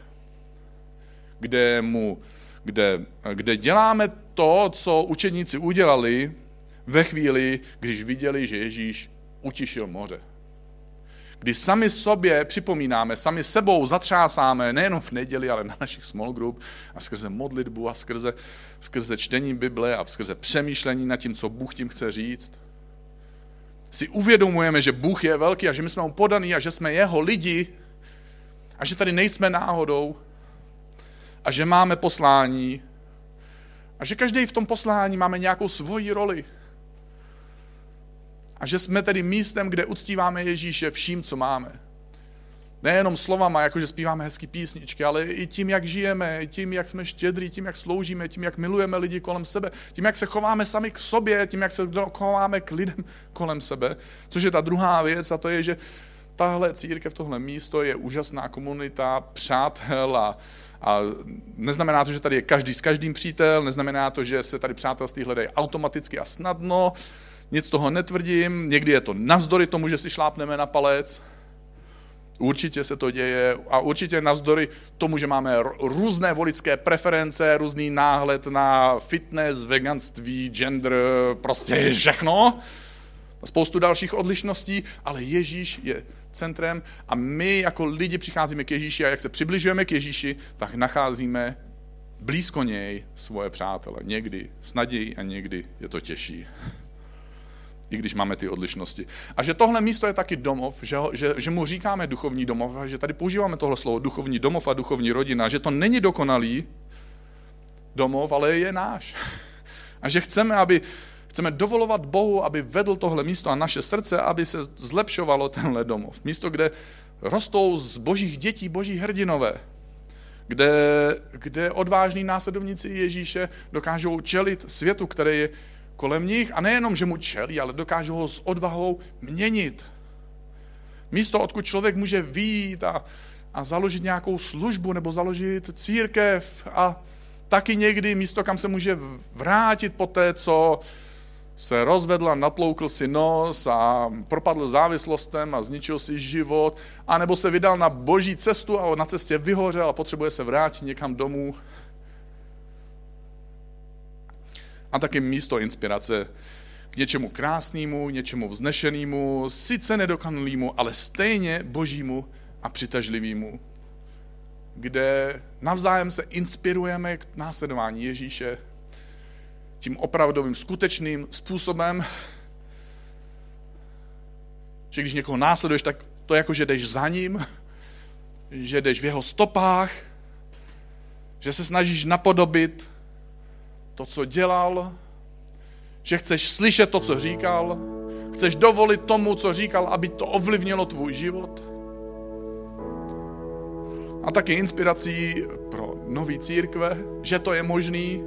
Kde děláme to, co učedníci udělali ve chvíli, když viděli, že Ježíš utišil moře. Kdy sami sobě připomínáme, sami sebou zatřásáme, nejenom v neděli, ale na našich small group a skrze modlitbu a skrze čtení Bible a skrze přemýšlení nad tím, co Bůh tím chce říct. Si uvědomujeme, že Bůh je velký a že my jsme mu podaní a že jsme jeho lidi a že tady nejsme náhodou a že máme poslání a že každý v tom poslání máme nějakou svoji roli a že jsme tedy místem, kde uctíváme Ježíše vším, co máme. Nejenom slovama, jakože zpíváme hezký písničky, ale i tím, jak žijeme, tím, jak jsme štědrý, tím, jak sloužíme, tím, jak milujeme lidi kolem sebe, tím, jak se chováme sami k sobě, tím, jak se chováme k lidem kolem sebe. Což je ta druhá věc a to je, že tahle církev, tohle místo je úžasná komunita, přátel a neznamená to, že tady je každý s každým přítel, neznamená to, že se tady přátelství hledají automaticky a snadno, nic toho netvrdím, někdy je to navzdory tomu, že si šlápneme na palec. Určitě se to děje a určitě navzdory tomu, že máme různé voličské preference, různý náhled na fitness, veganství, gender, prostě všechno. Spoustu dalších odlišností, ale Ježíš je centrem a my jako lidi přicházíme k Ježíši a jak se přibližujeme k Ježíši, tak nacházíme blízko něj svoje přátele. Někdy s nadějí a někdy je to těžší. I když máme ty odlišnosti. A že tohle místo je taky domov, že mu říkáme duchovní domov, a že tady používáme tohle slovo duchovní domov a duchovní rodina, že to není dokonalý domov, ale je náš. A že chceme dovolovat Bohu, aby vedl tohle místo a naše srdce, aby se zlepšovalo tenhle domov. Místo, kde rostou z božích dětí boží hrdinové, kde odvážní následovníci Ježíše dokážou čelit světu, který je kolem nich a nejenom, že mu čelí, ale dokážou ho s odvahou měnit. Místo, odkud člověk může vyjít a založit nějakou službu nebo založit církev a taky někdy místo, kam se může vrátit po té, co se rozvedl a natloukl si nos a propadl závislostem a zničil si život, anebo se vydal na boží cestu a na cestě vyhořel a potřebuje se vrátit někam domů. A taky místo inspirace k něčemu krásnému, něčemu vznešenému, sice nedokonalému, ale stejně božímu a přitažlivému, kde navzájem se inspirujeme k následování Ježíše tím opravdovým, skutečným způsobem, že když někoho následuješ, tak to je jako, že jdeš za ním, že jdeš v jeho stopách, že se snažíš napodobit to, co dělal, že chceš slyšet to, co říkal, chceš dovolit tomu, co říkal, aby to ovlivnilo tvůj život. A taky inspirací pro nový církve, že to je možný.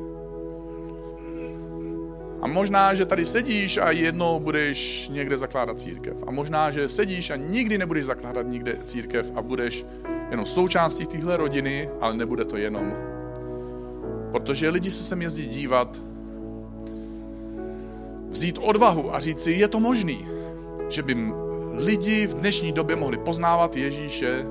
A možná, že tady sedíš a jednou budeš někde zakládat církev. A možná, že sedíš a nikdy nebudeš zakládat nikde církev a budeš jenom součástí téhle rodiny, ale nebude to jenom. Protože lidi se sem jezdí dívat vzít odvahu a říct si, je to možný, že by lidi v dnešní době mohli poznávat Ježíše.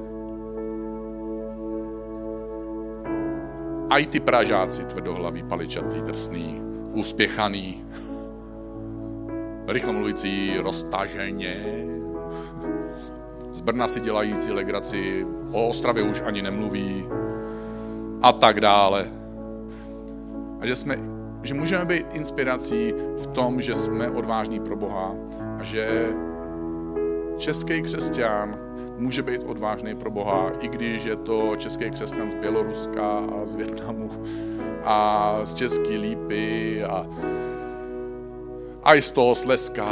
A i ty Pražáci tvrdohlaví, paličatý, drsný, uspěchaný, rychle mluvící, roztaženě, z Brna si dělající legraci, o Ostravě už ani nemluví a tak dále. A že můžeme být inspirací v tom, že jsme odvážní pro Boha a že český křesťan může být odvážný pro Boha, i když je to český křesťan z Běloruska a z Vietnamu a z České Lípy a i z toho Slezska.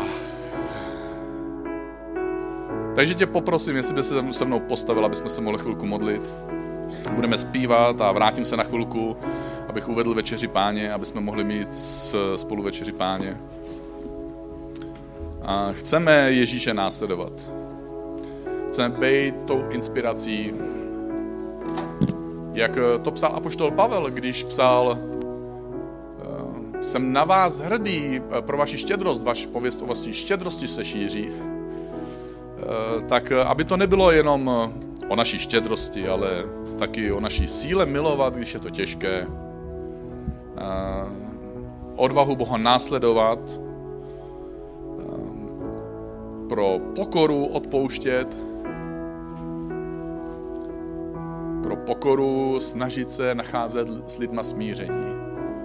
Takže tě poprosím, jestli by se se mnou postavil, abychom se mohli chvilku modlit. Budeme zpívat a vrátím se na chvilku, abych uvedl večeři Páně, aby jsme mohli mít spolu večeři Páně. A chceme Ježíše následovat. Chceme být tou inspirací, jak to psal apoštol Pavel, když psal jsem na vás hrdý pro vaši štědrost, vaš pověst o vaší štědrosti se šíří. Tak aby to nebylo jenom o naší štědrosti, ale taky o naší síle milovat, když je to těžké. Odvahu Boha následovat, pro pokoru odpouštět, pro pokoru snažit se nacházet s lidma smíření,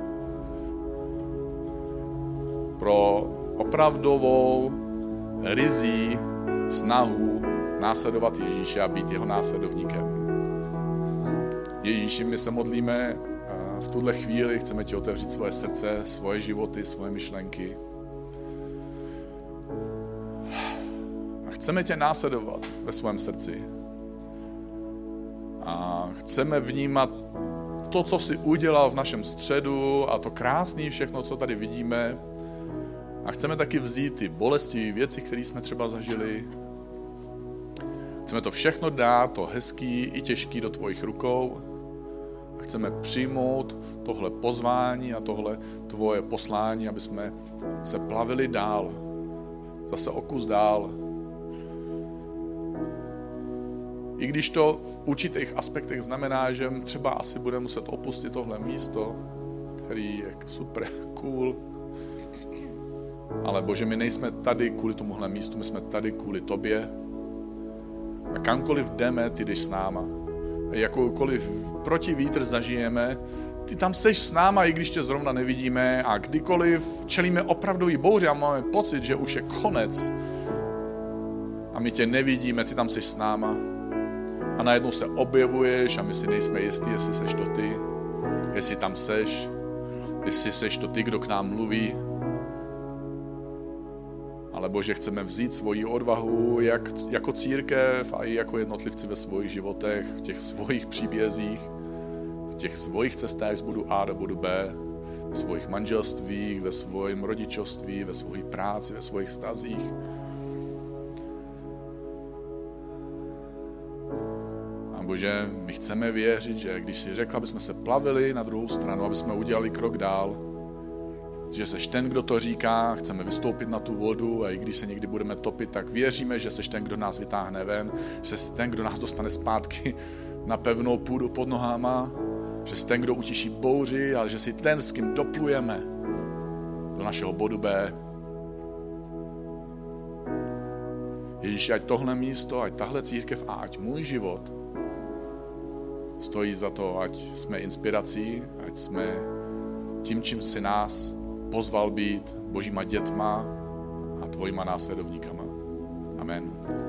pro opravdovou ryzí snahu následovat Ježíše a být jeho následovníkem. Ježíši, my se modlíme a v tuhle chvíli chceme ti otevřít svoje srdce, svoje životy, svoje myšlenky. A chceme tě následovat ve svém srdci. A chceme vnímat to, co jsi udělal v našem středu a to krásné všechno, co tady vidíme. A chceme taky vzít ty bolestivé věci, které jsme třeba zažili. Chceme to všechno dát, to hezký i těžký do tvojich rukou. A chceme přijmout tohle pozvání a tohle tvoje poslání, aby jsme se plavili dál. Zase o kus dál. I když to v určitých aspektech znamená, že třeba asi budeme muset opustit tohle místo, který je super cool. Ale Bože, my nejsme tady kvůli tomuhle místu, my jsme tady kvůli tobě. A kamkoliv jdeme, ty jdeš s náma. A jakoukoliv protivítr zažijeme, ty tam seš s náma, i když tě zrovna nevidíme. A kdykoliv čelíme opravdový bouři a máme pocit, že už je konec a my tě nevidíme, ty tam seš s náma. A najednou se objevuješ a my si nejsme jistí, jestli seš to ty, jestli tam seš, jestli seš to ty, kdo k nám mluví. Ale Bože, chceme vzít svoji odvahu jak jako církev a i jako jednotlivci ve svých životech, v těch svojich příbězích, v těch svojich cestách z bodu A do bodu B, ve svojich manželstvích, ve svém rodičovství, ve své práci, ve svých vztazích. A Bože, my chceme věřit, že když jsi řekl, aby jsme se plavili na druhou stranu, aby jsme udělali krok dál, že seš ten, kdo to říká, chceme vystoupit na tu vodu a i když se někdy budeme topit, tak věříme, že seš ten, kdo nás vytáhne ven, že jsi ten, kdo nás dostane zpátky na pevnou půdu pod nohama, že jsi ten, kdo utiší bouři, ale že jsi ten, s kým doplujeme do našeho bodu B. Ježíši, ať tohle místo, ať tahle církev a ať můj život stojí za to, ať jsme inspirací, ať jsme tím, čím si nás pozval být, božíma dětma a tvojima následovníkama. Amen.